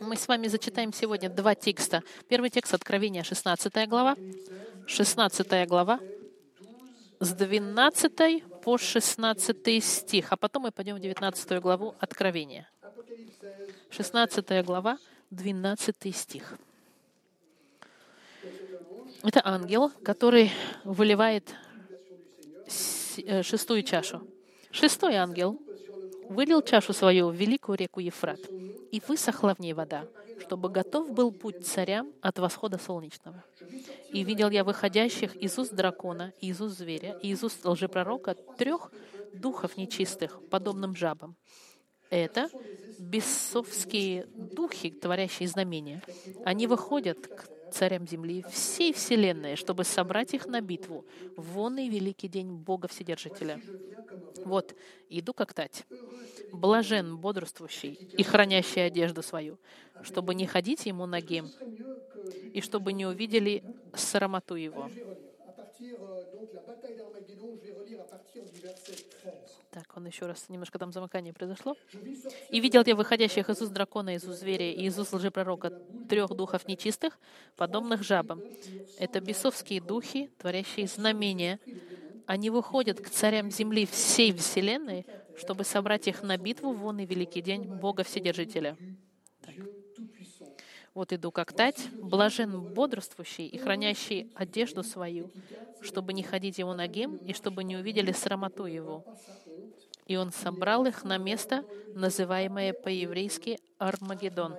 Мы с вами зачитаем сегодня два текста. Первый текст — Откровения, 16 глава. 16 глава с 12 по 16 стих. А потом мы пойдем в 19 главу Откровения. 16 глава, 12 стих. Это ангел, который выливает шестую чашу. Шестой ангел вылил чашу свою в великую реку Ефрат, и высохла в ней вода, чтобы готов был путь царям от восхода солнечного. И видел я выходящих из уст дракона, и из уст зверя, и из уст лжепророка 3 духов нечистых, подобным жабам. Это бесовские духи, творящие знамения. Они выходят к царям земли всей вселенной, чтобы собрать их на битву в вонный великий день Бога Вседержителя. Вот, иду как тать. Блажен бодрствующий и хранящий одежду свою, чтобы не ходить ему нагим, и чтобы не увидели срамоту его. Так, он еще раз, немножко там замыкание произошло. «И видел я выходящих из уст дракона, из уст зверя и из уст лжепророка 3 духов нечистых, подобных жабам. Это бесовские духи, творящие знамения. Они выходят к царям земли всей вселенной, чтобы собрать их на битву в вонный великий день Бога Вседержителя». Так. Вот иду как тать, блажен бодрствующий и хранящий одежду свою, чтобы не ходить ему нагим, и чтобы не увидели срамоту его. И он собрал их на место, называемое по-еврейски Армагеддон.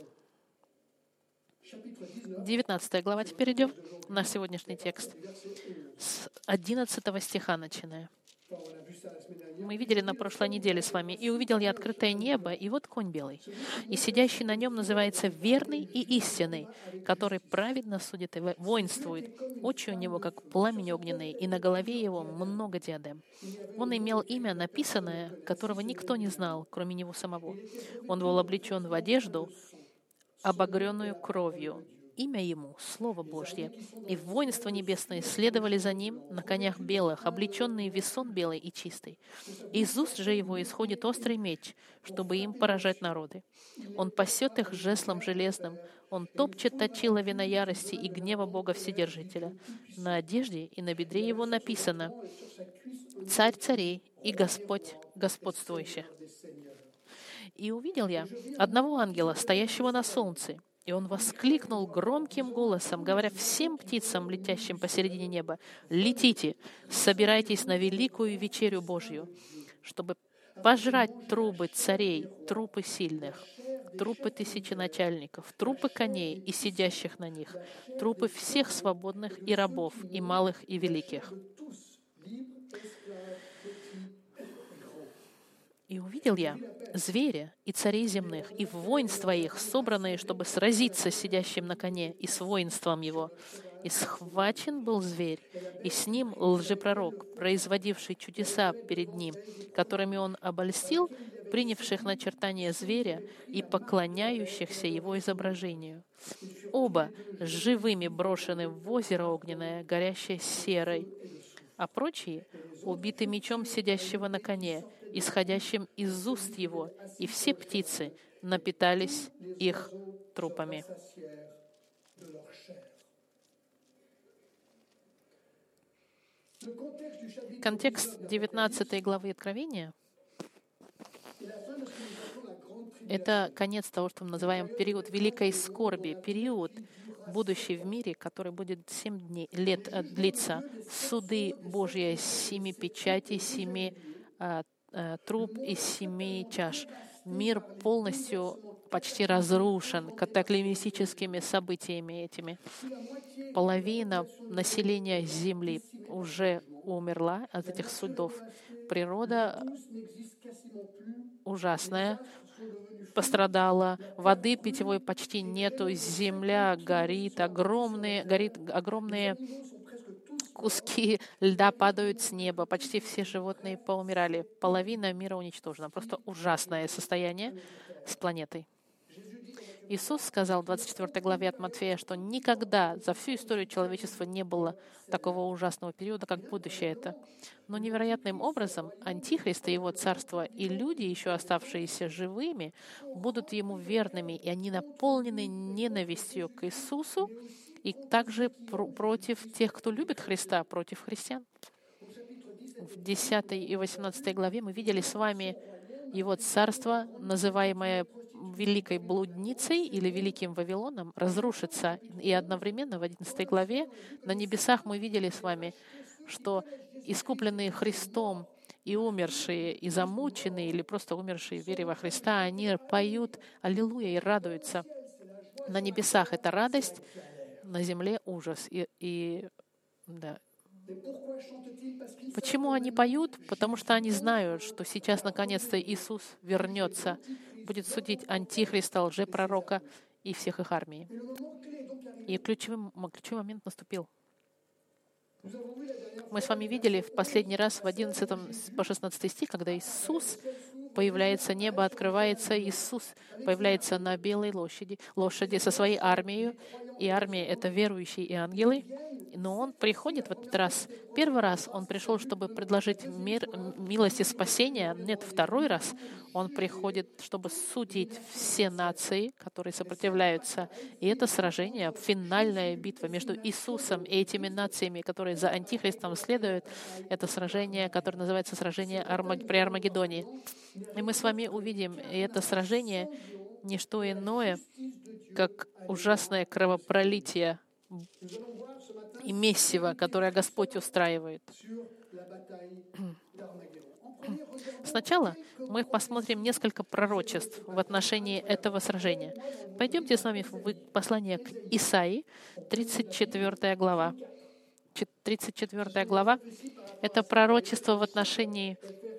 19 глава теперь идем, наш сегодняшний текст. С 11 стиха начиная. Мы видели на прошлой неделе с вами. «И увидел я открытое небо, и вот конь белый. И сидящий на нем называется верный и истинный, который праведно судит и воинствует. Очи у него, как пламень огненный, и на голове его много диадем. Он имел имя написанное, которого никто не знал, кроме него самого. Он был облечен в одежду, обогренную кровью. Имя ему — Слово Божье. И воинства небесные следовали за ним на конях белых, облеченные в весон белый и чистый. Из уст же его исходит острый меч, чтобы им поражать народы. Он пасет их жезлом железным. Он топчет точила вина ярости и гнева Бога Вседержителя. На одежде и на бедре его написано: «Царь царей и Господь господствующий». И увидел я одного ангела, стоящего на солнце, и он воскликнул громким голосом, говоря всем птицам, летящим посередине неба: «Летите, собирайтесь на великую вечерю Божью, чтобы пожрать трубы царей, трупы сильных, трупы тысяченачальников, трупы коней и сидящих на них, трупы всех свободных и рабов, и малых, и великих». И увидел я зверя и царей земных, и воинства их, собранные, чтобы сразиться с сидящим на коне и с воинством его. И схвачен был зверь, и с ним лжепророк, производивший чудеса перед ним, которыми он обольстил принявших начертание зверя и поклоняющихся его изображению. Оба живыми брошены в озеро огненное, горящее серой, а прочие убиты мечом сидящего на коне, исходящим из уст его, и все птицы напитались их трупами. Контекст 19 главы Откровения — это конец того, что мы называем период великой скорби, период, будущий в мире, который будет 7 лет длиться. Суды Божьи, 7 печатей, 7 труб и 7 чаш. Мир полностью почти разрушен катаклизмическими событиями этими. Половина населения Земли уже умерла от этих судов. Природа ужасная, пострадала, воды питьевой почти нету, земля горит, огромные куски льда падают с неба, почти все животные поумирали, половина мира уничтожена. Просто ужасное состояние с планетой. Иисус сказал в 24 главе от Матфея, что никогда за всю историю человечества не было такого ужасного периода, как будущее это. Но невероятным образом Антихрист и его царство и люди, еще оставшиеся живыми, будут ему верными, и они наполнены ненавистью к Иисусу и также против тех, кто любит Христа, против христиан. В 10 и 18 главе мы видели с вами его царство, называемое великой блудницей или великим Вавилоном, разрушится. И одновременно в 11 главе на небесах мы видели с вами, что искупленные Христом и умершие, и замученные, или просто умершие в вере во Христа, они поют «Аллилуйя» и радуются. На небесах это радость, на земле ужас. Да. Почему они поют? Потому что они знают, что сейчас наконец-то Иисус вернется, будет судить антихриста, лжепророка и всех их армий. И ключевой момент наступил. Мы с вами видели в последний раз в 11 по 16 стих, когда Иисус появляется, небо открывается, Иисус появляется на белой лошади со своей армией, и армия — это верующие и ангелы. Но Он приходит в этот раз. Первый раз Он пришел, чтобы предложить мир, милость и спасение. Нет, второй раз Он приходит, чтобы судить все нации, которые сопротивляются. И это сражение, финальная битва между Иисусом и этими нациями, которые за Антихристом следуют. Это сражение, которое называется сражение при Армагеддоне. И мы с вами увидим, и это сражение — не что иное, как ужасное кровопролитие и месиво, которое Господь устраивает. Сначала мы посмотрим несколько пророчеств в отношении этого сражения. Пойдемте с вами в послание к Исаии, 34 глава. 34 глава — это пророчество в отношении...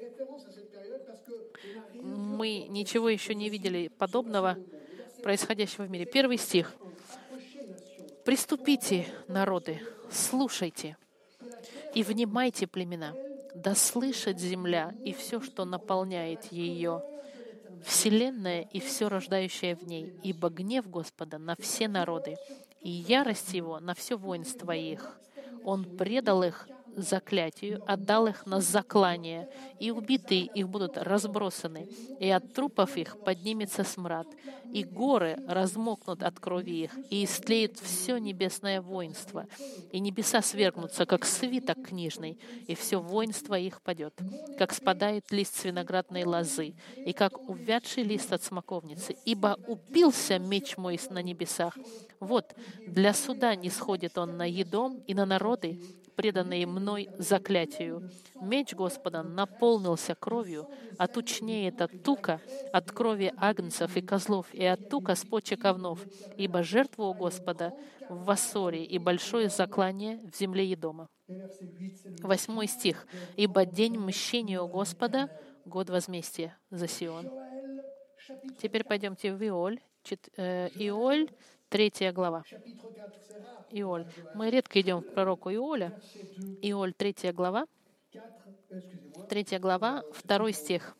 Мы ничего еще не видели подобного, происходящего в мире. 1 стих. «Приступите, народы, слушайте, и внимайте, племена, да слышит земля и все, что наполняет ее, вселенная и все рождающее в ней, ибо гнев Господа на все народы, и ярость Его на все воинство их. Он предал их заклятию, отдал их на заклание, и убитые их будут разбросаны, и от трупов их поднимется смрад, и горы размокнут от крови их, и истлеет все небесное воинство, и небеса свергнутся, как свиток книжный, и все воинство их падет, как спадает лист с виноградной лозы, и как увядший лист от смоковницы, ибо упился меч мой на небесах. Вот, для суда не сходит он на Едом и на народы, преданные мной заклятию. Меч Господа наполнился кровью, а тучнеет от тука, от крови агнцев и козлов, и от тука с почек овнов, ибо жертва у Господа в Вассоре и большое заклание в земле Едома». 8 стих. «Ибо день мщения у Господа, год возмездия за Сион». Теперь пойдемте в Иоль, 3 глава. Иоль. Мы редко идем к пророку Иоля. Иоль, 3 глава. 3 глава, 2 стих.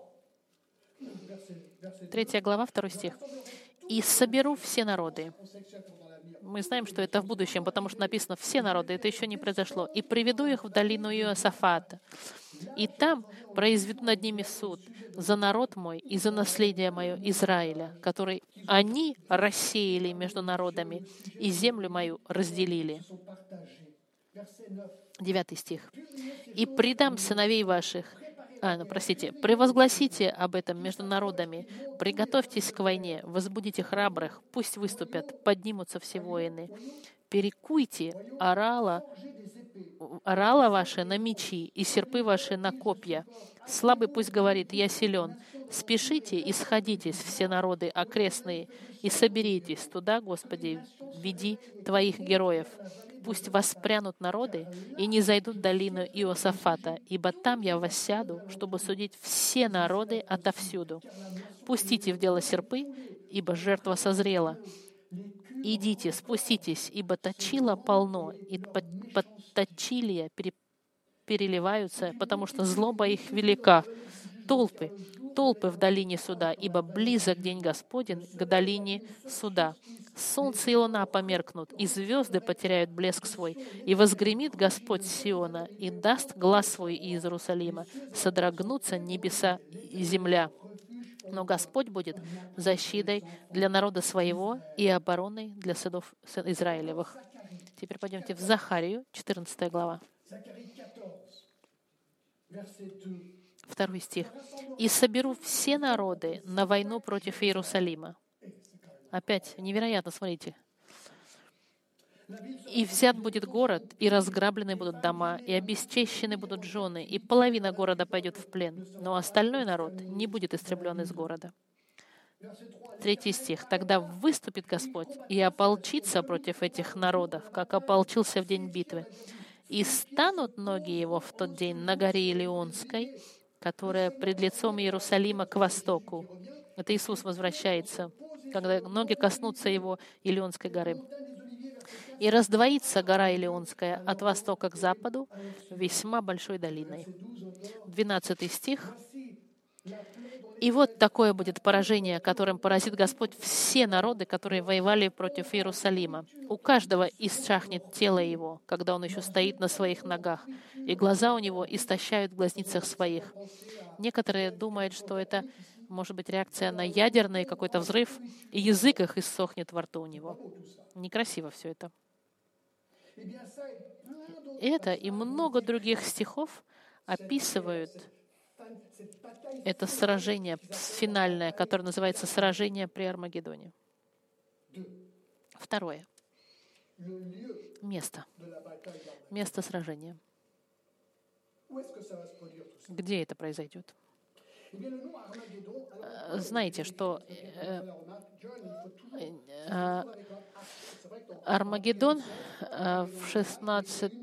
3 глава, 2 стих. «И соберу все народы». Мы знаем, что это в будущем, потому что написано «все народы», это еще не произошло. «И приведу их в долину Иосафата. И там произведу над ними суд за народ мой и за наследие мое Израиля, который они рассеяли между народами, и землю мою разделили». 9 стих. «И предам сыновей ваших». «Превозгласите об этом между народами, приготовьтесь к войне, возбудите храбрых, пусть выступят, поднимутся все воины. Перекуйте орала ваши на мечи и серпы ваши на копья. Слабый пусть говорит: я силен. Спешите и сходитесь, все народы окрестные, и соберитесь туда, Господи, веди Твоих героев. Пусть воспрянут народы и не зайдут в долину Иосафата, ибо там я воссяду, чтобы судить все народы отовсюду. Пустите в дело серпы, ибо жертва созрела. Идите, спуститесь, ибо точила полно, и точилия переливаются, потому что злоба их велика. Толпы, толпы в долине суда, ибо близок день Господень к долине суда. Солнце и луна померкнут, и звезды потеряют блеск свой, и возгремит Господь с Сиона, и даст глас свой из Иерусалима, содрогнутся небеса и земля. Но Господь будет защитой для народа своего и обороной для сынов Израилевых. Теперь пойдемте в Захарию, 14 глава. 2 стих. «И соберу все народы на войну против Иерусалима». Опять невероятно, смотрите. «И взят будет город, и разграблены будут дома, и обесчещены будут жены, и половина города пойдет в плен, но остальной народ не будет истреблен из города». 3 стих. «Тогда выступит Господь и ополчится против этих народов, как ополчился в день битвы. И станут ноги его в тот день на горе Илионской, которая пред лицом Иерусалима к востоку». Это Иисус возвращается, когда ноги коснутся его Илионской горы. «И раздвоится гора Илионская от востока к западу весьма большой долиной». 12 стих. «И вот такое будет поражение, которым поразит Господь все народы, которые воевали против Иерусалима. У каждого исчахнет тело его, когда он еще стоит на своих ногах, и глаза у него истощают в глазницах своих». Некоторые думают, что это может быть реакция на ядерный какой-то взрыв, и язык их иссохнет во рту у него. Некрасиво все это. Это и много других стихов описывают это сражение финальное, которое называется «Сражение при Армагеддоне». Второе. Место. Место сражения. Где это произойдет? Знаете, что Армагеддон в 16...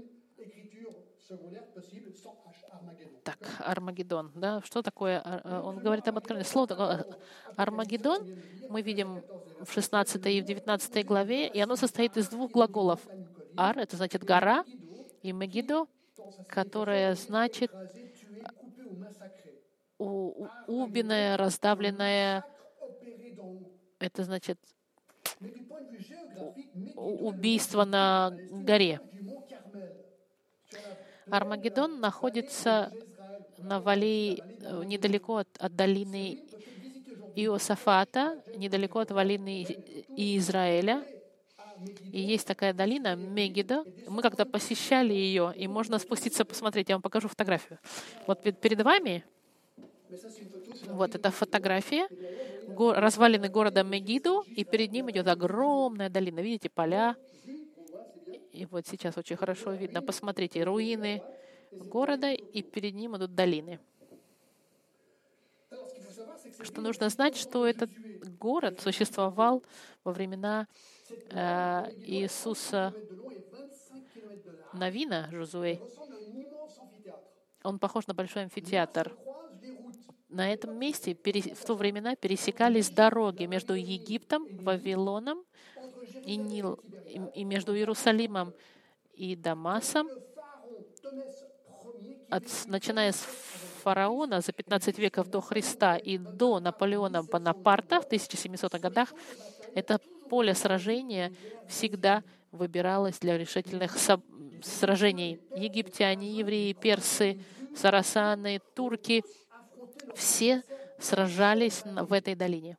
Так, Армагеддон, да? Что такое? Он говорит об откровении. Слово такое Армагеддон мы видим в 16 и в 19 главе, и оно состоит из двух глаголов. Ар — это значит гора, и Мегидо, которое значит убиная, раздавленная, это значит убийство на горе. Армагеддон находится на вале недалеко от долины Иосафата, недалеко от долины Израиля. И есть такая долина Мегидо. Мы как-то посещали ее, и можно спуститься посмотреть. Я вам покажу фотографию. Вот перед вами вот эта фотография развалины города Мегидо, и перед ним идет огромная долина. Видите, поля. И вот сейчас очень хорошо видно. Посмотрите, руины города, и перед ним идут долины. Что нужно знать, что этот город существовал во времена Иисуса Навина, Жозуэ. Он похож на большой амфитеатр. На этом месте в то времена пересекались дороги между Египтом, Вавилоном и между Иерусалимом и Дамасом, начиная с фараона за 15 веков до Христа и до Наполеона Бонапарта в 1700-х годах. Это поле сражения всегда выбиралось для решительных сражений. Египтяне, евреи, персы, сарасаны, турки — все сражались в этой долине.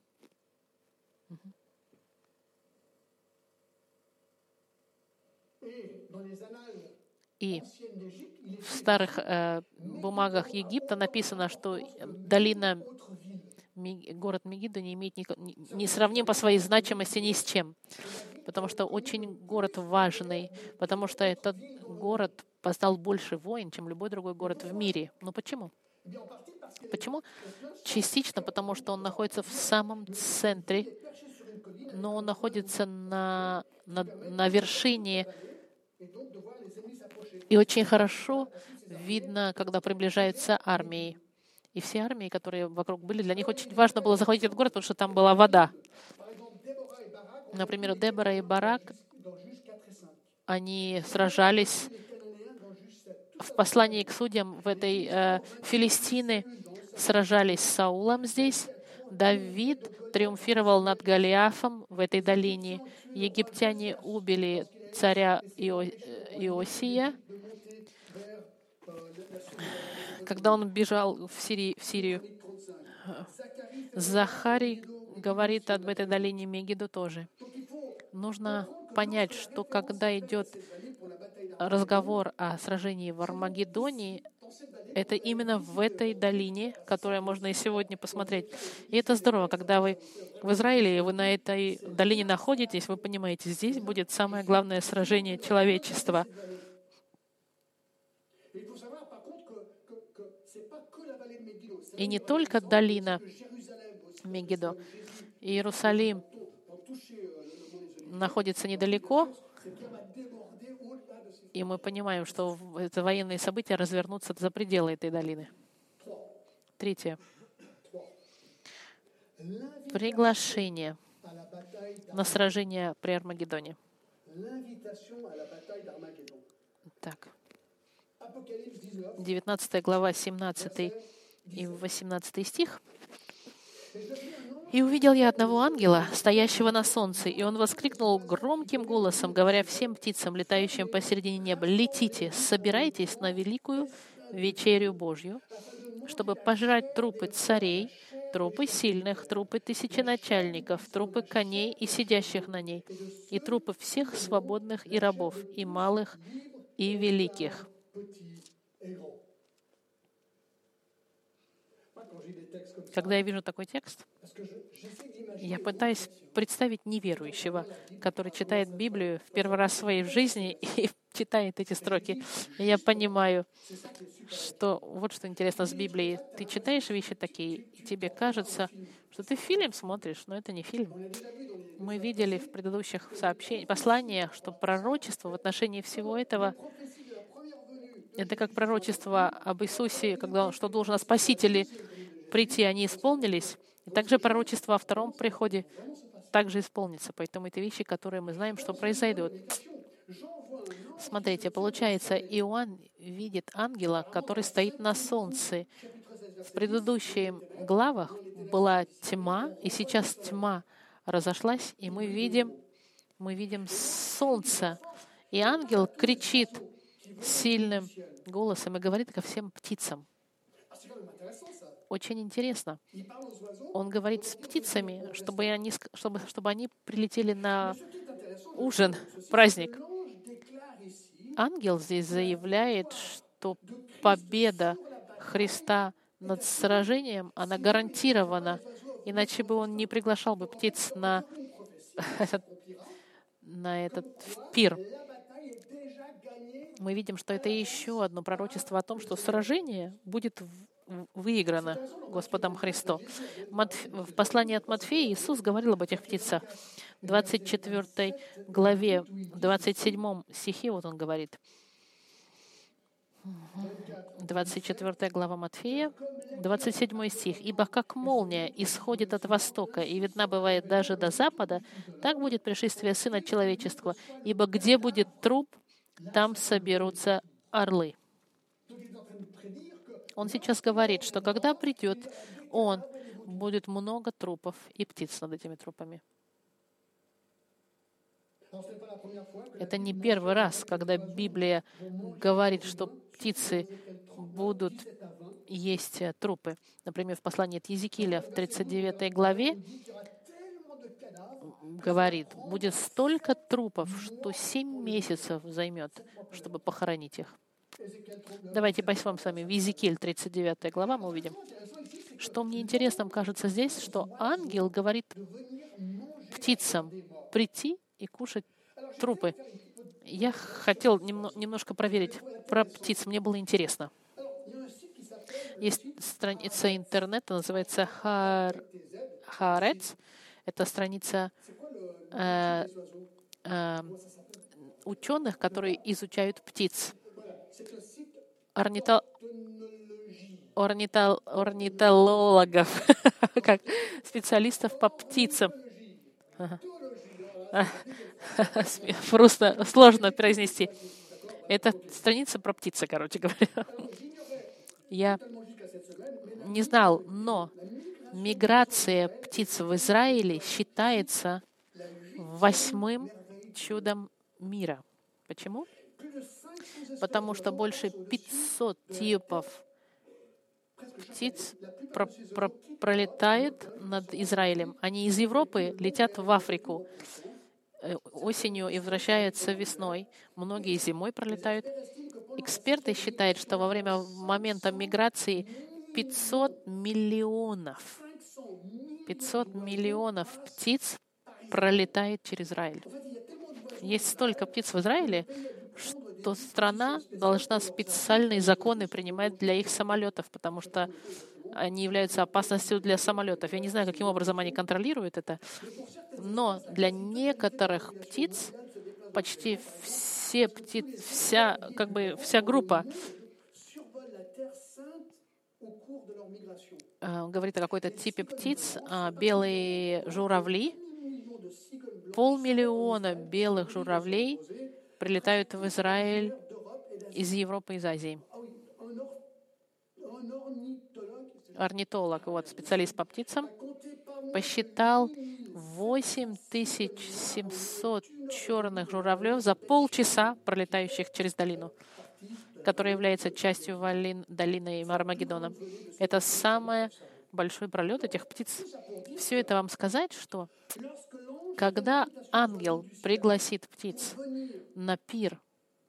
И в старых бумагах Египта написано, что город Мегидо не имеет не сравним по своей значимости ни с чем, потому что очень город важный, потому что этот город познал больше войн, чем любой другой город в мире. Но почему? Почему? Частично потому, что он находится в самом центре, но он находится на вершине, и очень хорошо видно, когда приближаются армии. И все армии, которые вокруг были, для них очень важно было заходить в этот город, потому что там была вода. Например, Дебора и Барак, они сражались в послании к судьям в этой Филистины. сражались с Саулом здесь. Давид триумфировал над Голиафом в этой долине. Египтяне убили царя Иосия, когда он бежал в Сирию. Захарий говорит об этой долине Мегидо тоже. Нужно понять, что когда идет разговор о сражении в Армагеддоне, это именно в этой долине, которую можно и сегодня посмотреть. И это здорово, когда вы в Израиле, и вы на этой долине находитесь, вы понимаете, здесь будет самое главное сражение человечества. И не только долина Мегидо. Иерусалим находится недалеко, и мы понимаем, что это военные события развернутся за пределы этой долины. Третье. Приглашение на сражение при Армагеддоне. Так. 19 глава, 17 и 18 стих. «И увидел я одного ангела, стоящего на солнце, и он воскликнул громким голосом, говоря всем птицам, летающим посередине неба: летите, собирайтесь на великую вечерю Божью, чтобы пожрать трупы царей, трупы сильных, трупы тысяченачальников, трупы коней и сидящих на ней, и трупы всех свободных и рабов, и малых, и великих». Когда я вижу такой текст, я пытаюсь представить неверующего, который читает Библию в первый раз в своей жизни и читает эти строки. И я понимаю, что вот что интересно с Библией. Ты читаешь вещи такие, и тебе кажется, что ты фильм смотришь, но это не фильм. Мы видели в предыдущих посланиях, что пророчество в отношении всего этого — это как пророчество об Иисусе, что должен о Спасителе прийти, они исполнились. И также пророчество о втором приходе также исполнится. Поэтому это вещи, которые мы знаем, что произойдут. Смотрите, получается, Иоанн видит ангела, который стоит на солнце. В предыдущих главах была тьма, и сейчас тьма разошлась, и мы видим солнце. И ангел кричит сильным голосом и говорит ко всем птицам. Очень интересно. Он говорит с птицами, чтобы они прилетели на ужин, праздник. Ангел здесь заявляет, что победа Христа над сражением, она гарантирована, иначе бы он не приглашал бы птиц на этот пир. Мы видим, что это еще одно пророчество о том, что сражение будет выиграно Господом Христом. В послании от Матфея Иисус говорил об этих птицах. В 24 главе, 27 стихе, вот он говорит. 24 глава Матфея, 27 стих. «Ибо как молния исходит от востока и видна бывает даже до запада, так будет пришествие Сына Человеческого. Ибо где будет труп, там соберутся орлы». Он сейчас говорит, что когда придет Он, будет много трупов и птиц над этими трупами. Это не первый раз, когда Библия говорит, что птицы будут есть трупы. Например, в послании от Иезекииля в 39 главе говорит, будет столько трупов, что 7 месяцев займет, чтобы похоронить их. Давайте пойдем с вами в Иезекииль, 39 глава, мы увидим. Что мне интересным кажется здесь, что ангел говорит птицам прийти и кушать трупы. Я хотел немножко проверить про птиц, мне было интересно. Есть страница интернета, называется Haaretz. Это страница ученых, которые изучают птиц. Орнитологов, как специалистов по птицам. Просто сложно произнести. Это страница про птицы, короче говоря. Я не знал, но миграция птиц в Израиле считается 8-м чудом мира. Почему? Потому что больше 500 типов птиц пролетает над Израилем. Они из Европы летят в Африку осенью и возвращаются весной. Многие зимой пролетают. Эксперты считают, что во время момента миграции 500 миллионов птиц пролетает через Израиль. Есть столько птиц в Израиле, что страна должна специальные законы принимать для их самолетов, потому что они являются опасностью для самолетов. Я не знаю, каким образом они контролируют это, но для некоторых птиц почти все птицы, вся группа говорит о какой-то типе птиц, белые журавли. 500 000 белых журавлей прилетают в Израиль из Европы, из Азии. Орнитолог, специалист по птицам, посчитал 8700 черных журавлев за полчаса, пролетающих через долину, которая является частью долины Армагеддона. Это самый большой пролет этих птиц. Все это вам сказать, что когда ангел пригласит птиц на пир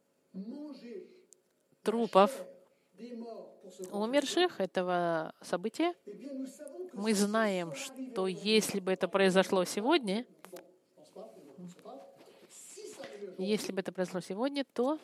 трупов умерших этого события, мы знаем, что если бы это произошло сегодня, то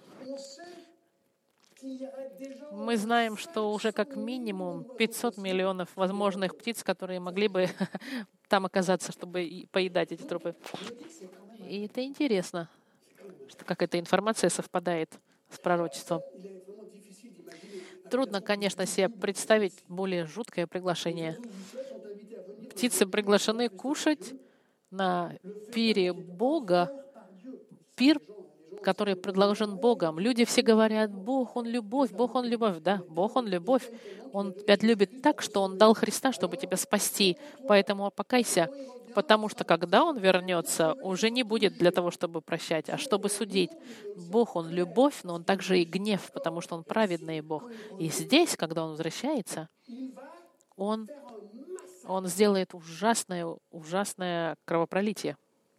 мы знаем, что уже как минимум 500 миллионов возможных птиц, которые могли бы там оказаться, чтобы поедать эти трупы. И это интересно, как эта информация совпадает с пророчеством. Трудно, конечно, себе представить более жуткое приглашение. Птицы приглашены кушать на пире Бога, пир, который предложен Богом. Люди все говорят: Бог, Он любовь, Бог, Он любовь. Да, Бог, Он любовь. Он тебя любит так, что Он дал Христа, чтобы тебя спасти. Поэтому покайся, потому что когда Он вернется, уже не будет для того, чтобы прощать, а чтобы судить. Бог, Он любовь, но Он также и гнев, потому что Он праведный Бог. И здесь, когда Он возвращается, Он сделает ужасное кровопролитие.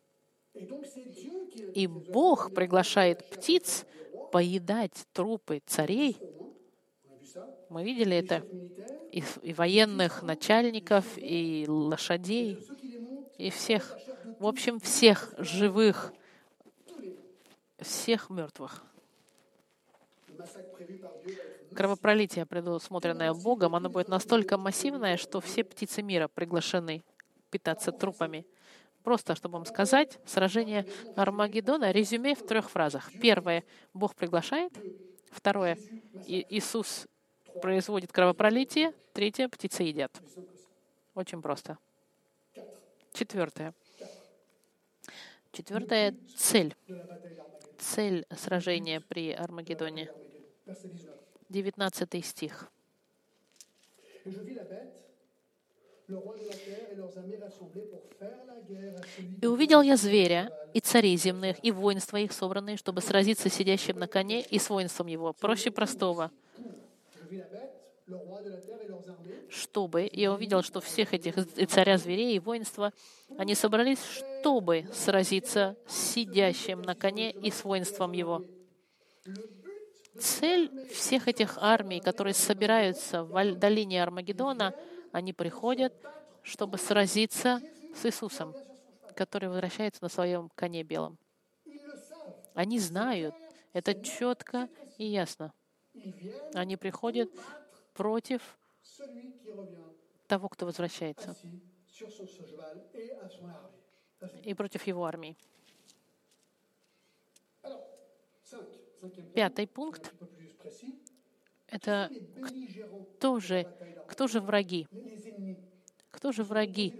И Бог приглашает птиц поедать трупы царей. Мы видели это. И военных начальников, и лошадей, и всех. В общем, всех живых, всех мертвых. Кровопролитие, предусмотренное Богом, оно будет настолько массивное, что все птицы мира приглашены питаться трупами. Просто, чтобы вам сказать, сражение Армагеддона, резюме в 3 фразах. Первое — Бог приглашает. Второе — Иисус производит кровопролитие. Третье — птицы едят. Очень просто. Четвертое — цель. Цель сражения при Армагеддоне. 19 стих. «И увидел я зверя, и царей земных, и воинства их, собранные, чтобы сразиться с сидящим на коне и с воинством его». Проще простого. Я увидел, что всех этих и царя зверей, и воинства, они собрались, чтобы сразиться с сидящим на коне и с воинством его. Цель всех этих армий, которые собираются в долине Армагеддона, они приходят, чтобы сразиться с Иисусом, который возвращается на своем коне белом. Они знают, это четко и ясно. Они приходят против того, кто возвращается, и против его армии. 5 пункт — это кто же враги? Кто же враги?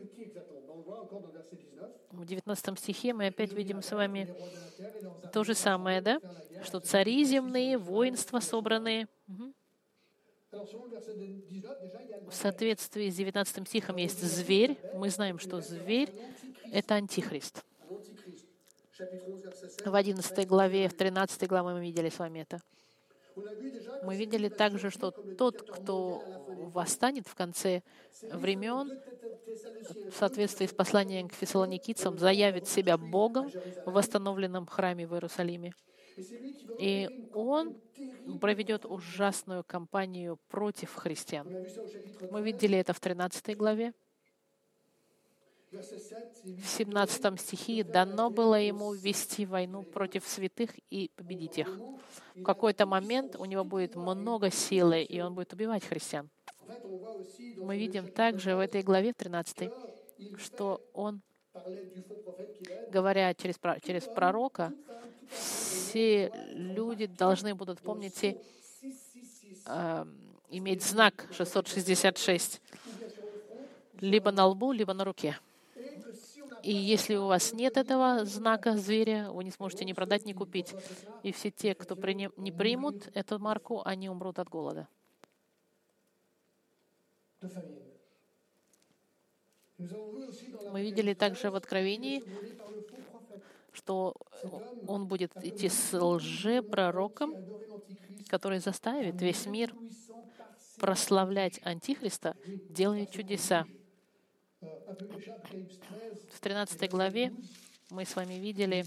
В 19 стихе мы опять видим с вами то же самое, да? Что цари земные, воинства собранные. В соответствии с 19 стихом есть зверь. Мы знаем, что зверь — это антихрист. В 11 главе, в 13 главе мы видели с вами это. Мы видели также, что тот, кто восстанет в конце времен, в соответствии с посланием к фессалоникийцам, заявит себя Богом в восстановленном храме в Иерусалиме. И он проведет ужасную кампанию против христиан. Мы видели это в 13 главе. В 17 стихе дано было ему вести войну против святых и победить их. В какой-то момент у него будет много силы, и он будет убивать христиан. Мы видим также в этой главе 13, что он, говоря через пророка, все люди должны будут, помните, иметь знак 666 либо на лбу, либо на руке. И если у вас нет этого знака зверя, вы не сможете ни продать, ни купить. И все те, кто не примут эту марку, они умрут от голода. Мы видели также в Откровении, что он будет идти с лжепророком, который заставит весь мир прославлять Антихриста, делая чудеса. В 13 главе мы с вами видели,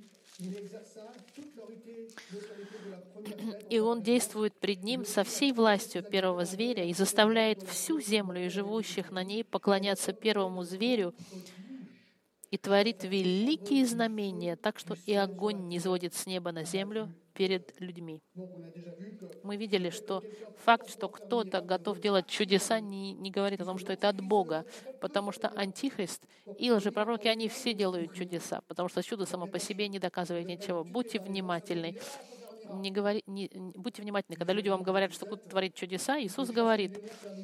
и он действует пред ним со всей властью первого зверя и заставляет всю землю и живущих на ней поклоняться первому зверю и творит великие знамения, так что и огонь не сводит с неба на землю перед людьми. Мы видели, что факт, что кто-то готов делать чудеса, не говорит о том, что это от Бога, потому что Антихрист и лжепророки, они все делают чудеса, потому что чудо само по себе не доказывает ничего. Будьте внимательны. Будьте внимательны. Когда люди вам говорят, что кто-то творит чудеса, Иисус говорит,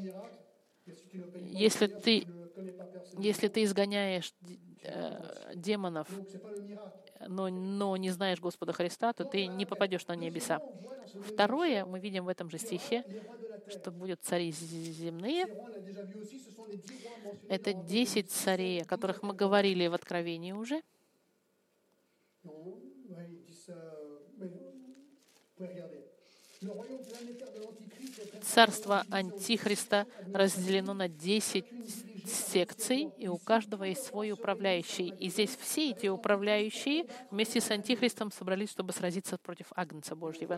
если ты изгоняешь демонов, но не знаешь Господа Христа, то ты не попадешь на небеса. Второе, мы видим в этом же стихе, что будут цари земные. Это 10 царей, о которых мы говорили в Откровении уже. Царство Антихриста разделено на 10 секций, и у каждого есть свой управляющий. И здесь все эти управляющие вместе с Антихристом собрались, чтобы сразиться против Агнца Божьего.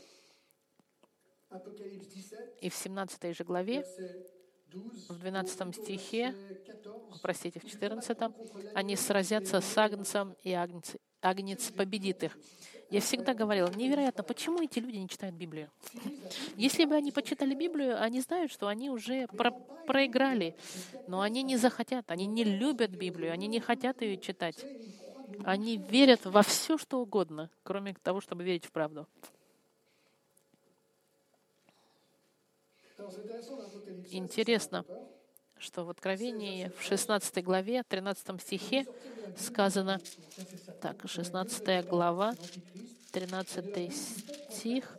И в 17 же главе, в 12 стихе, в 14, они сразятся с Агнцем, и Агнец победит их. Я всегда говорила, невероятно, почему эти люди не читают Библию? Если бы они почитали Библию, они знают, что они уже проиграли, но они не захотят, они не любят Библию, они не хотят ее читать. Они верят во все, что угодно, кроме того, чтобы верить в правду. Интересно, что в Откровении, в 16 главе, 13 стихе сказано, 16 глава, 13 стих.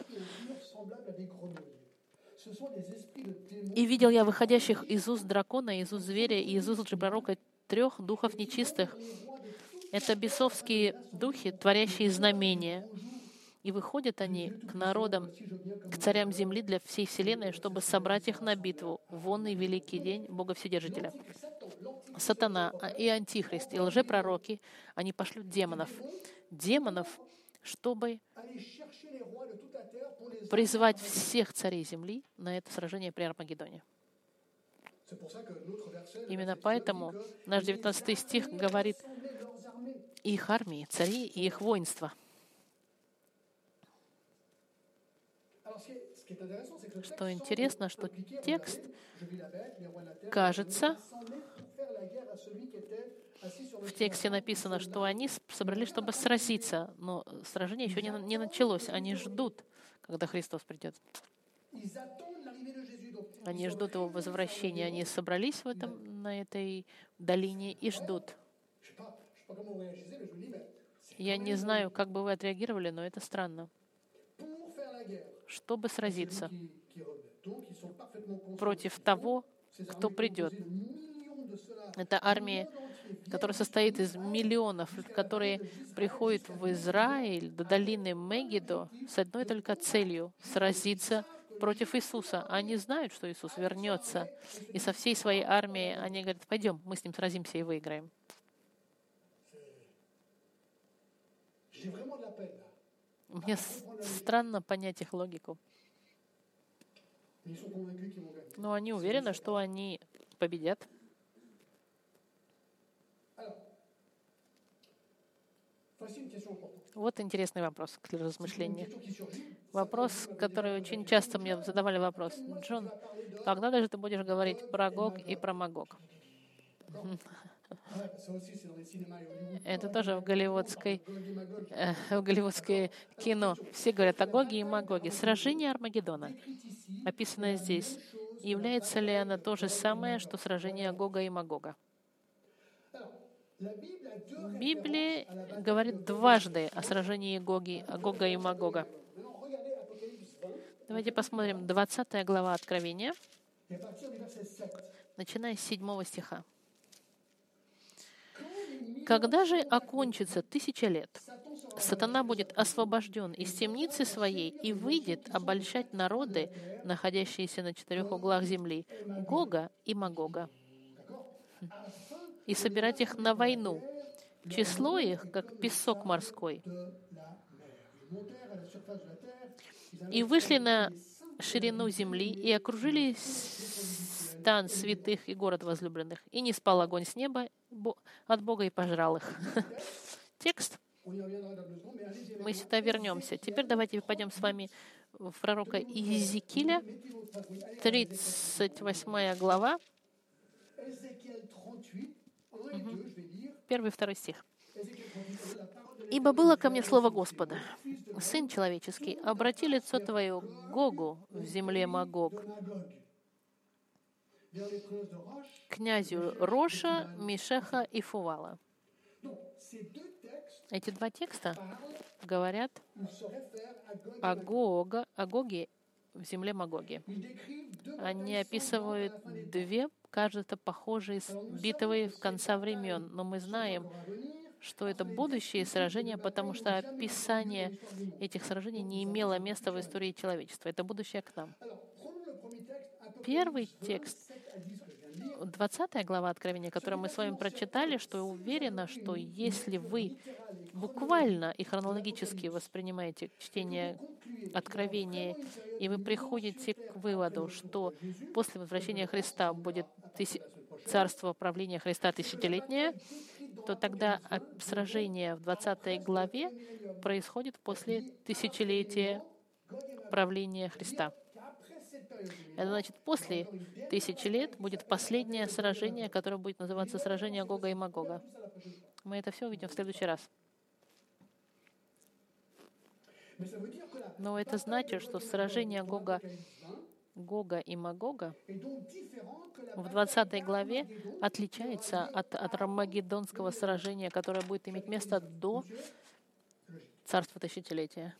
«И видел я выходящих из уст дракона, из уст зверя и из уст лжепророка 3 духов нечистых». Это бесовские духи, творящие знамения. И выходят они к народам, к царям земли для всей вселенной, чтобы собрать их на битву в онный великий день Бога Вседержителя. Сатана и Антихрист, и лжепророки, они пошлют демонов, чтобы призвать всех царей земли на это сражение при Армагеддоне. Именно поэтому наш 19 стих говорит их армии, цари и их воинства. Что интересно, что текст, кажется, в тексте написано, что они собрались, чтобы сразиться, но сражение еще не началось. Они ждут, когда Христос придет. Они ждут Его возвращения. Они собрались на этой долине и ждут. Я не знаю, как бы вы отреагировали, но это странно. Чтобы сразиться. против того, кто придет. Это армия, которая состоит из миллионов, которые приходят в Израиль, до долины Мегидо, с одной только целью — сразиться против Иисуса. Они знают, что Иисус вернется, и со всей своей армией они говорят: пойдем, мы с ним сразимся и выиграем. Мне странно понять их логику. Но они уверены, что они победят. Вот интересный вопрос к размышлению. Вопрос, который очень часто мне задавали вопрос: Джон, когда даже ты будешь говорить про Гог и про Магог? Это тоже в голливудское кино. Все говорят о Гоге и Магоге. Сражение Армагеддона, описанное здесь, является ли оно то же самое, что сражение Гога и Магога? Библия говорит дважды о сражении Гога и Магога. Давайте посмотрим 20 глава Откровения, начиная с 7 стиха. «Когда же окончится 1000 лет, сатана будет освобожден из темницы своей и выйдет обольщать народы, находящиеся на 4 углах земли, Гога и Магога, и собирать их на войну. Число их, как песок морской. И вышли на ширину земли и окружили стан святых и город возлюбленных. И не спал огонь с неба от Бога и пожрал их». Текст. Мы сюда вернемся. Теперь давайте пойдем с вами в пророка Иезекииля, 38 глава, 1-2 стих. «Ибо было ко мне слово Господа: Сын человеческий, обрати лицо твое к Гогу в земле Магог, князю Роша, Мешеха и Фувала». Эти два текста говорят о Гоге в земле Магоге. Они описывают две, кажется, похожие битвы в конце времен, но мы знаем, что это будущие сражения, потому что описание этих сражений не имело места в истории человечества. Это будущее к нам. Первый текст, 20 глава Откровения, которую мы с вами прочитали, что я уверена, что если вы буквально и хронологически воспринимаете чтение Откровения, и вы приходите к выводу, что после возвращения Христа будет царство правления Христа тысячелетнее, то тогда сражение в 20 главе происходит после тысячелетия правления Христа. Это значит, после 1000 лет будет последнее сражение, которое будет называться сражение Гога и Магога. Мы это все увидим в следующий раз. Но это значит, что сражение Гога и Магога в 20 главе отличается от Армагеддонского сражения, которое будет иметь место до царства тысячелетия.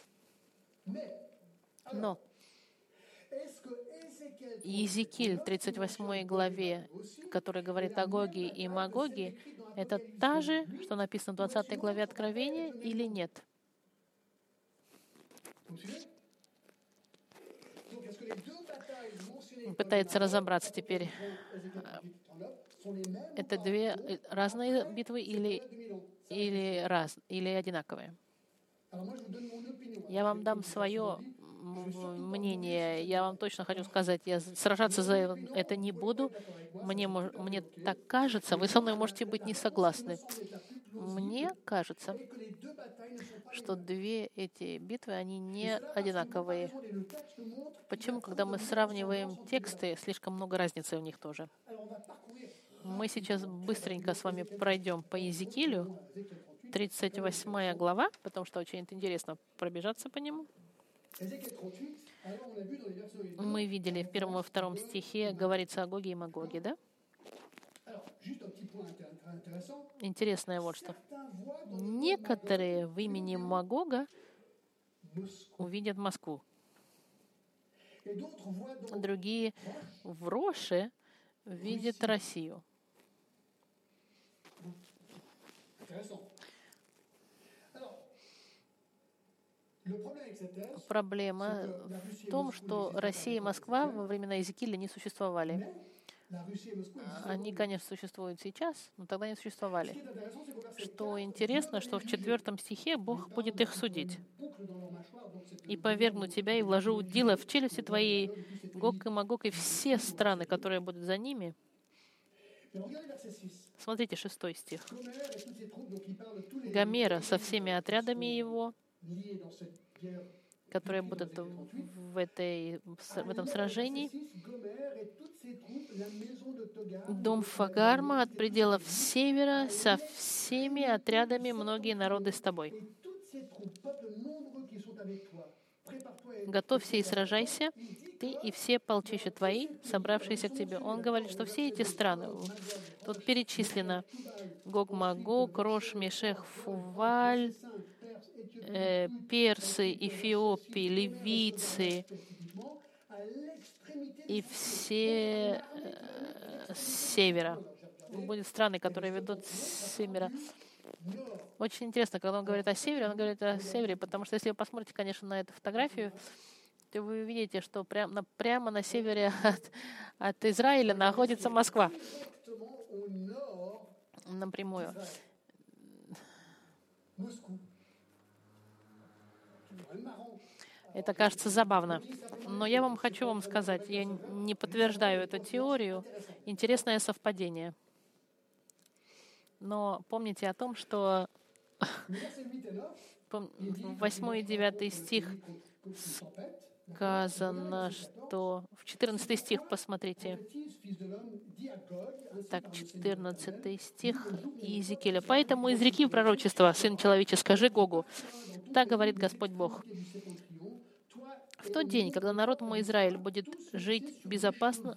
Но Иезекииль 38 главе, который говорит о Гоге и Магоге, это та же, что написано в 20 главе Откровения, или нет? Пытается разобраться теперь. Это две разные битвы или одинаковые? Я вам дам свое мнение. Я вам точно хочу сказать, я сражаться за это не буду. Мне так кажется, вы со мной можете быть не согласны. Мне кажется, что две эти битвы, они не одинаковые. Почему? Когда мы сравниваем тексты, слишком много разницы в них тоже. Мы сейчас быстренько с вами пройдем по Иезекиилю, 38 глава, потому что очень интересно пробежаться по нему. Мы видели в 1 и 2 стихе говорится о Гоге и Магоге, да? Интересное вот что. Некоторые в имени Магога увидят Москву. Другие в Роше видят Россию. Проблема в том, что Россия и Москва во времена Иезекииля не существовали. Они, конечно, существуют сейчас, но тогда не существовали. Что интересно, что в 4 стихе Бог будет их судить. «И повергну тебя, и вложу удила в челюсти твоей, Гог и Магог, и все страны, которые будут за ними». Смотрите, 6 стих. «Гомера со всеми отрядами его, которые будут в этом сражении, дом Фагарма от пределов севера со всеми отрядами многие народы с тобой. Готовься и сражайся, ты и все полчища твои, собравшиеся к тебе». Он говорит, что все эти страны, тут перечислено Гог-Магог, Рош, Мешех, Фуваль, персы, эфиопии, ливийцы и все с севера. Будут страны, которые ведут с севера. Очень интересно, когда он говорит о севере, он говорит о севере, потому что если вы посмотрите, конечно, на эту фотографию, то вы увидите, что прямо на севере от Израиля находится Москва. Напрямую. Это кажется забавно. Но я хочу вам сказать, я не подтверждаю эту теорию. Интересное совпадение. Но помните о том, что 8 и 9 стих сказано, что... В 14 стих посмотрите. Так, 14 стих Иезекииля. «Поэтому изреки пророчество, Сын человечий, скажи Гогу, так говорит Господь Бог. В тот день, когда народ мой Израиль будет жить безопасно,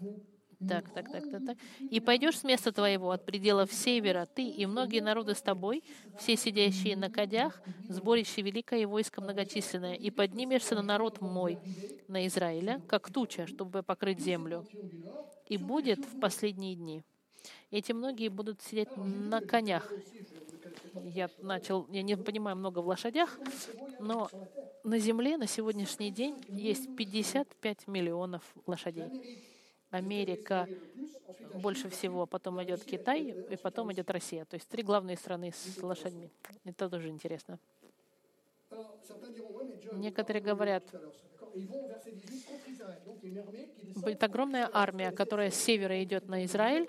и пойдешь с места твоего от пределов севера, ты и многие народы с тобой, все сидящие на кадях, сборище великое и войско многочисленное, и поднимешься на народ мой, на Израиля, как туча, чтобы покрыть землю. И будет в последние дни. Эти многие будут сидеть на конях». Я не понимаю много в лошадях, но на земле на сегодняшний день есть 55 миллионов лошадей. Америка больше всего, потом идет Китай, и потом идет Россия. То есть 3 главные страны с лошадьми. Это тоже интересно. Некоторые говорят, будет огромная армия, которая с севера идет на Израиль,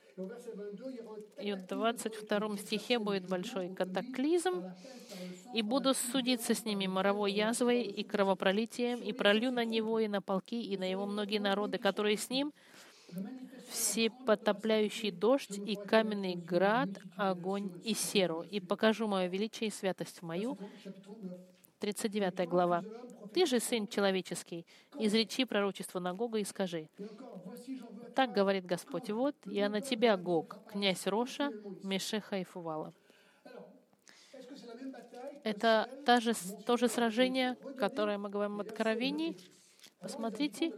и в 22 стихе будет большой катаклизм, «И буду судиться с ними моровой язвой и кровопролитием, и пролью на него и на полки, и на его многие народы, которые с ним, всепотопляющий дождь и каменный град, огонь и серу, и покажу мое величие и святость мою». 39 глава. «Ты же, сын человеческий, изречи пророчество на Гога и скажи: так говорит Господь, вот я на тебя, Гог, князь Роша, Мешеха и Фувала». Это то же сражение, которое мы говорим в Откровении. Посмотрите,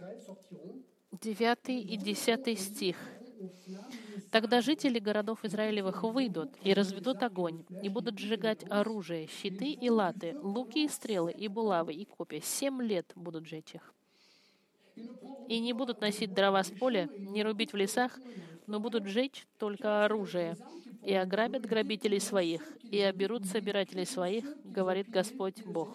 9 и 10 стих. «Тогда жители городов Израилевых выйдут и разведут огонь, и будут сжигать оружие, щиты и латы, луки и стрелы, и булавы, и копья. 7 лет будут жечь их. И не будут носить дрова с поля, не рубить в лесах, но будут жечь только оружие, и ограбят грабителей своих, и оберут собирателей своих, говорит Господь Бог».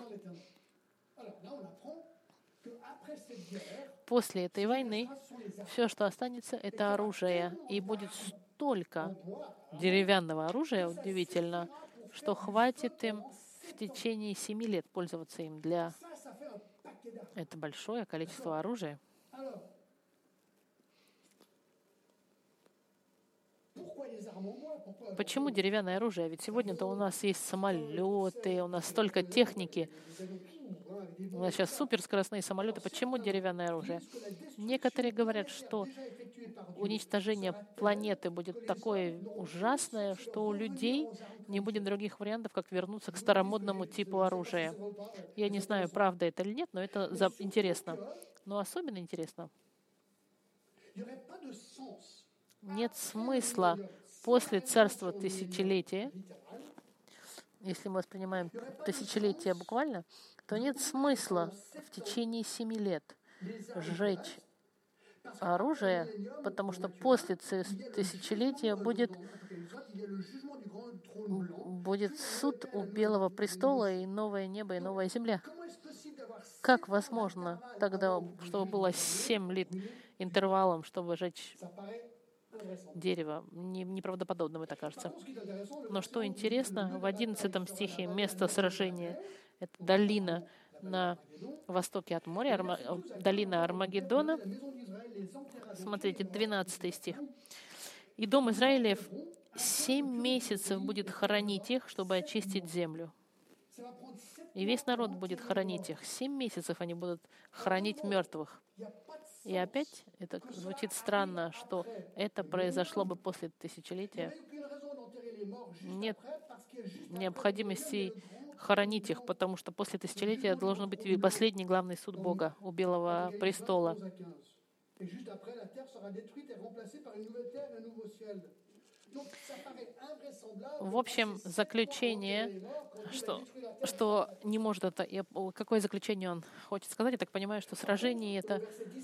После этой войны все, что останется, это оружие. И будет столько деревянного оружия, удивительно, что хватит им в течение 7 лет пользоваться им для... Это большое количество оружия. Почему деревянное оружие? Ведь сегодня-то у нас есть самолеты, у нас столько техники. У нас сейчас суперскоростные самолеты. Почему деревянное оружие? Некоторые говорят, что уничтожение планеты будет такое ужасное, что у людей не будет других вариантов, как вернуться к старомодному типу оружия. Я не знаю, правда это или нет, но это интересно. Но особенно интересно, нет смысла после царства тысячелетия, если мы воспринимаем тысячелетие буквально, то нет смысла в течение 7 лет сжечь оружие, потому что после тысячелетия будет суд у Белого престола и новое небо и новая земля. Как возможно тогда, чтобы было 7 лет интервалом, чтобы сжечь дерево? Неправдоподобно, мне так кажется. Но что интересно, в 11 стихе место сражения — это долина на востоке от моря, долина Армагеддона. Смотрите, 12 стих. «И дом Израилев 7 месяцев будет хоронить их, чтобы очистить землю». И весь народ будет хоронить их. 7 месяцев они будут хоронить мертвых. И опять это звучит странно, что это произошло бы после тысячелетия. Нет необходимости хоронить их, потому что после тысячелетия должен быть последний главный суд Бога у Белого престола. В общем, заключение, что не может это... Какое заключение он хочет сказать? Я так понимаю, что сражения — это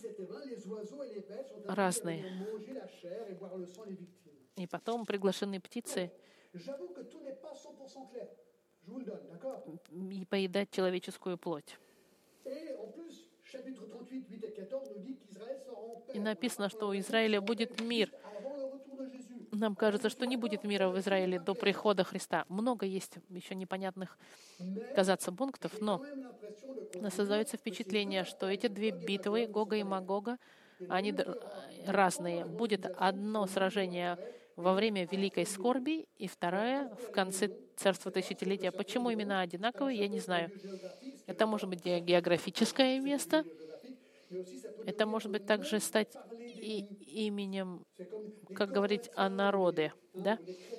разные. И потом приглашены птицы и поедать человеческую плоть. И написано, что у Израиля будет мир. Нам кажется, что не будет мира в Израиле до прихода Христа. Много есть еще непонятных, казаться, пунктов, но создается впечатление, что эти две битвы, Гога и Магога, они разные. Будет одно сражение во время Великой Скорби и второе в конце Царства Тысячелетия. Почему имена одинаковые, я не знаю. Это может быть географическое место, это может быть также стать и именем, как говорить о народе, да?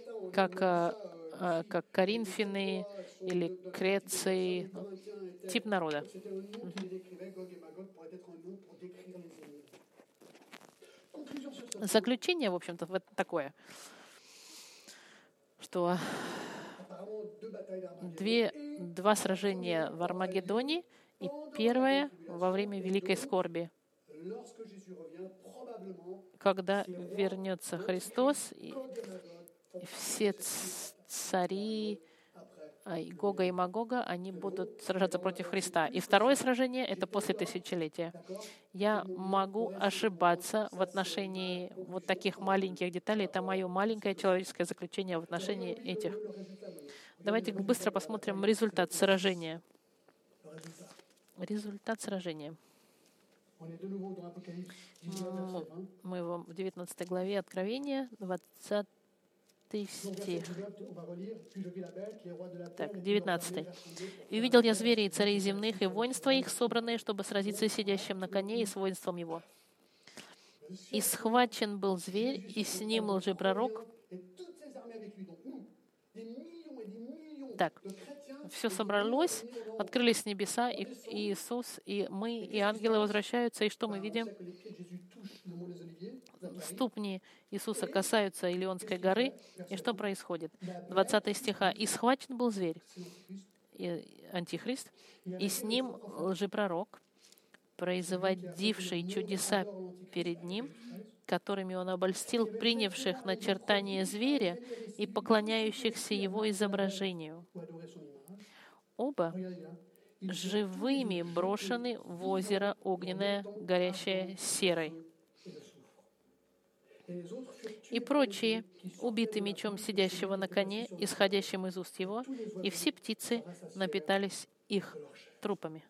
Как Коринфяне или Креции, тип народа. Заключение, в общем-то, такое, что два сражения в Армагеддоне и первое во время Великой Скорби, когда вернется Христос, и все цари Гога и Магога, они будут сражаться против Христа. И второе сражение — это после тысячелетия. Я могу ошибаться в отношении вот таких маленьких деталей. Это мое маленькое человеческое заключение в отношении этих. Давайте быстро посмотрим результат сражения. Результат сражения. Мы в 19 главе Откровения, 20 стих. Так, 19. «И увидел я зверей и царей земных, и воинства их, собранные, чтобы сразиться с сидящим на коне и с воинством его. И схвачен был зверь, и с ним лжепророк». Так, все собралось, открылись небеса, и Иисус, и мы, и ангелы возвращаются, и что мы видим? Ступни Иисуса касаются Илионской горы, и что происходит? 20 стиха. «И схвачен был зверь, антихрист, и с ним лжепророк, производивший чудеса перед ним, которыми он обольстил принявших начертание зверя и поклоняющихся его изображению. Оба живыми брошены в озеро огненное, горящее серой. И прочие, убиты мечом сидящего на коне, исходящим из уст его, и все птицы напитались их трупами».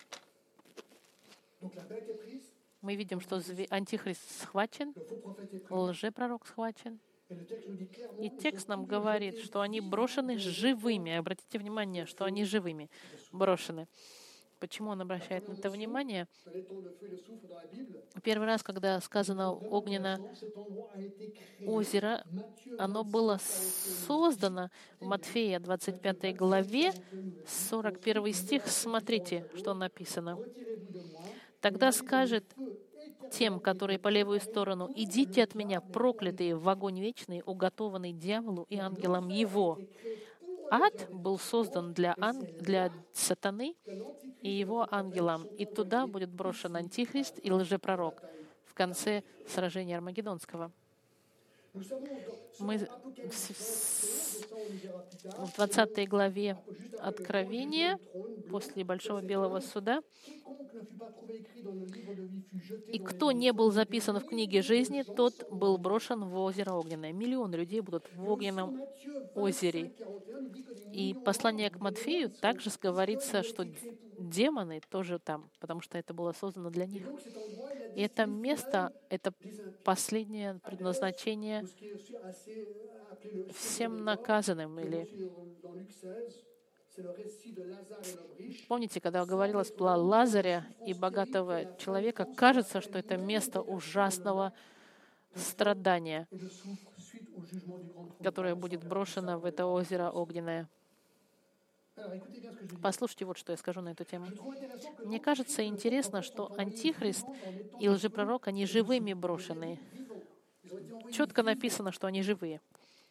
Мы видим, что антихрист схвачен, лжепророк схвачен. И текст нам говорит, что они брошены живыми. Обратите внимание, что они живыми брошены. Почему он обращает на это внимание? Первый раз, когда сказано огненное озеро, оно было создано в Матфея 25 главе, 41 стих. Смотрите, что написано. «Тогда скажет тем, которые по левую сторону: идите от меня, проклятые, в огонь вечный, уготованный дьяволу и ангелам его». Ад был создан для сатаны и его ангелам, и туда будет брошен антихрист и лжепророк в конце сражения Армагеддонского. Мы в 20 главе Откровения, после Большого Белого Суда, «И кто не был записан в книге жизни, тот был брошен в озеро огненное». Миллионы людей будут в огненном озере. И послание к Матфею также говорится, что демоны тоже там, потому что это было создано для них. И это место, это последнее предназначение всем наказанным. Или помните, когда говорилось про Лазаря и богатого человека, кажется, что это место ужасного страдания, которое будет брошено в это озеро огненное. Послушайте, вот что я скажу на эту тему. Мне кажется интересно, что Антихрист и лжепророк, они живыми брошены. Четко написано, что они живые.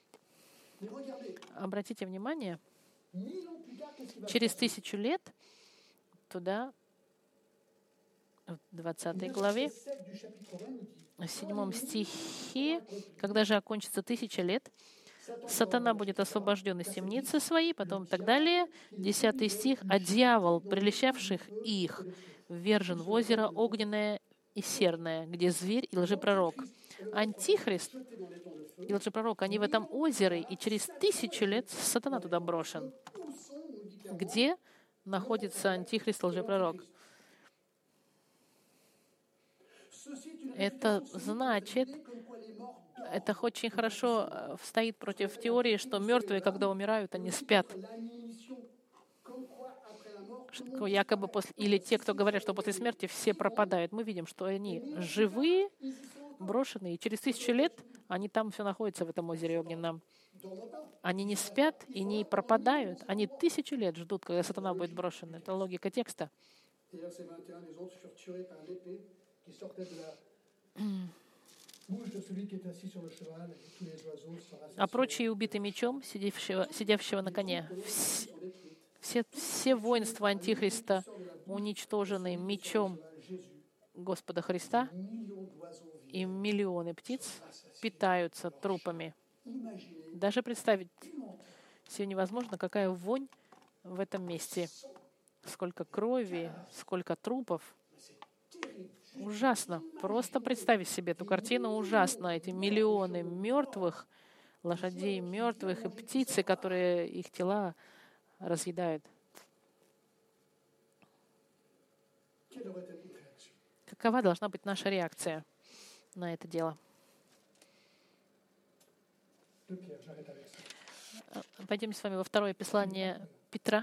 Обратите внимание, через 1000 лет туда, в 20 главе, в 7 стихе, когда же окончится 1000 лет, сатана будет освобожден из темницы своей, потом так далее. 10 стих. «А дьявол, прельщавших их, ввержен в озеро огненное и серное, где зверь и лжепророк». Антихрист и лжепророк, они в этом озере, и через 1000 лет сатана туда брошен. Где находится Антихрист и лжепророк? Это значит, это очень хорошо стоит против теории, что мертвые, когда умирают, они спят. Якобы или те, кто говорят, что после смерти все пропадают. Мы видим, что они живые, брошенные, и через 1000 лет они там все находятся в этом озере огненном. Они не спят и не пропадают. Они 1000 лет ждут, когда сатана будет брошен. Это логика текста. А прочие убиты мечом, сидящего на коне. Все воинства Антихриста уничтожены мечом Господа Христа, и миллионы птиц питаются трупами. Даже представить себе невозможно, какая вонь в этом месте. Сколько крови, сколько трупов. Ужасно. Просто представить себе эту картину ужасно. Эти миллионы мертвых, лошадей мертвых и птицы, которые их тела разъедают. Какова должна быть наша реакция на это дело? Пойдем с вами во второе послание Петра.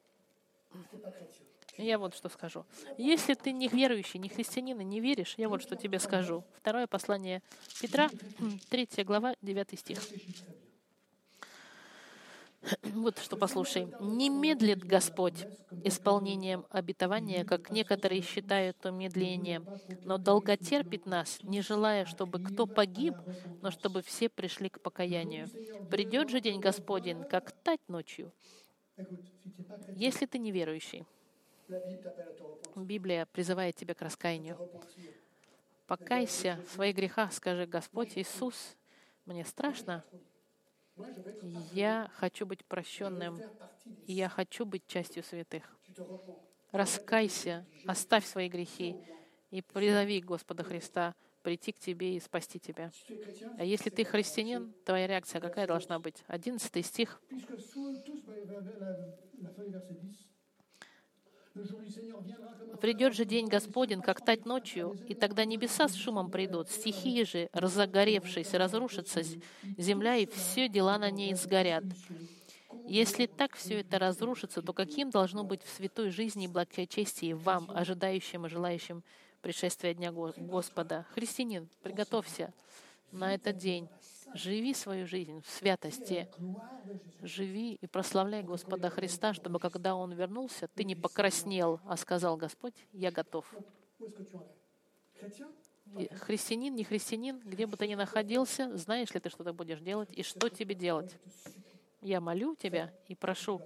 Я вот что скажу. Если ты не верующий, не христианин и не веришь, я вот что тебе скажу. Второе послание Петра, 3 глава, 9 стих. Вот что послушай. «Не медлит Господь исполнением обетования, как некоторые считают то медлением, но долготерпит нас, не желая, чтобы кто погиб, но чтобы все пришли к покаянию. Придет же день Господень, как тать ночью». Если ты неверующий, Библия призывает тебя к раскаянию. Покайся в своих грехах, скажи: «Господь Иисус, мне страшно. Я хочу быть прощенным, и я хочу быть частью святых». Раскайся, оставь свои грехи и призови Господа Христа прийти к тебе и спасти тебя. А если ты христианин, твоя реакция какая должна быть? 11 стих. «Придет же день Господень, как тать ночью, и тогда небеса с шумом придут, стихии же, разогоревшись, разрушатся земля, и все дела на ней сгорят. Если так все это разрушится, то каким должно быть в святой жизни и благочестии вам, ожидающим и желающим пришествия Дня Господа? Христианин, приготовься на этот день. Живи свою жизнь в святости. Живи и прославляй Господа Христа, чтобы когда Он вернулся, ты не покраснел, а сказал: Господь, я готов. И христианин, не христианин, где бы ты ни находился, знаешь ли ты, что ты будешь делать и что тебе делать? Я молю тебя и прошу,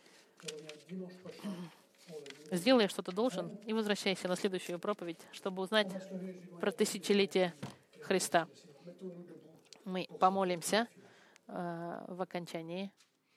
сделай, что ты должен, и возвращайся на следующую проповедь, чтобы узнать про тысячелетие Христа. Мы помолимся в окончании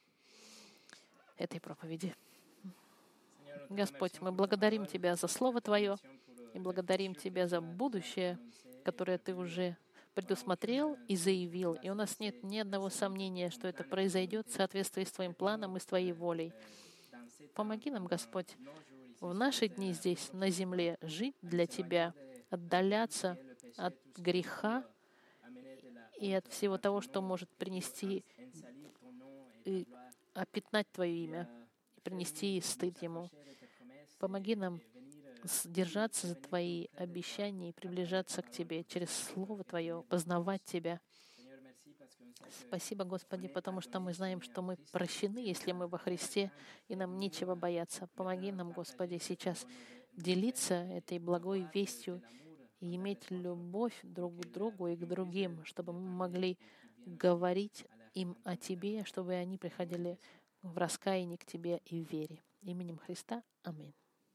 этой проповеди. Господь, мы благодарим Тебя за Слово Твое и благодарим Тебя за будущее, которое Ты уже предусмотрел и заявил. И у нас нет ни одного сомнения, что это произойдет в соответствии с Твоим планом и с Твоей волей. Помоги нам, Господь, в наши дни здесь, на земле, жить для Тебя, отдаляться от греха и от всего того, что может принести и опятнать Твое имя, и принести стыд Ему. Помоги нам держаться за Твои обещания и приближаться к Тебе через Слово Твое, познавать Тебя. Спасибо, Господи, потому что мы знаем, что мы прощены, если мы во Христе, и нам нечего бояться. Помоги нам, Господи, сейчас делиться этой благой вестью и иметь любовь друг к другу и к другим, чтобы мы могли говорить им о Тебе, чтобы они приходили в раскаянии к Тебе и в вере. Именем Христа. Аминь.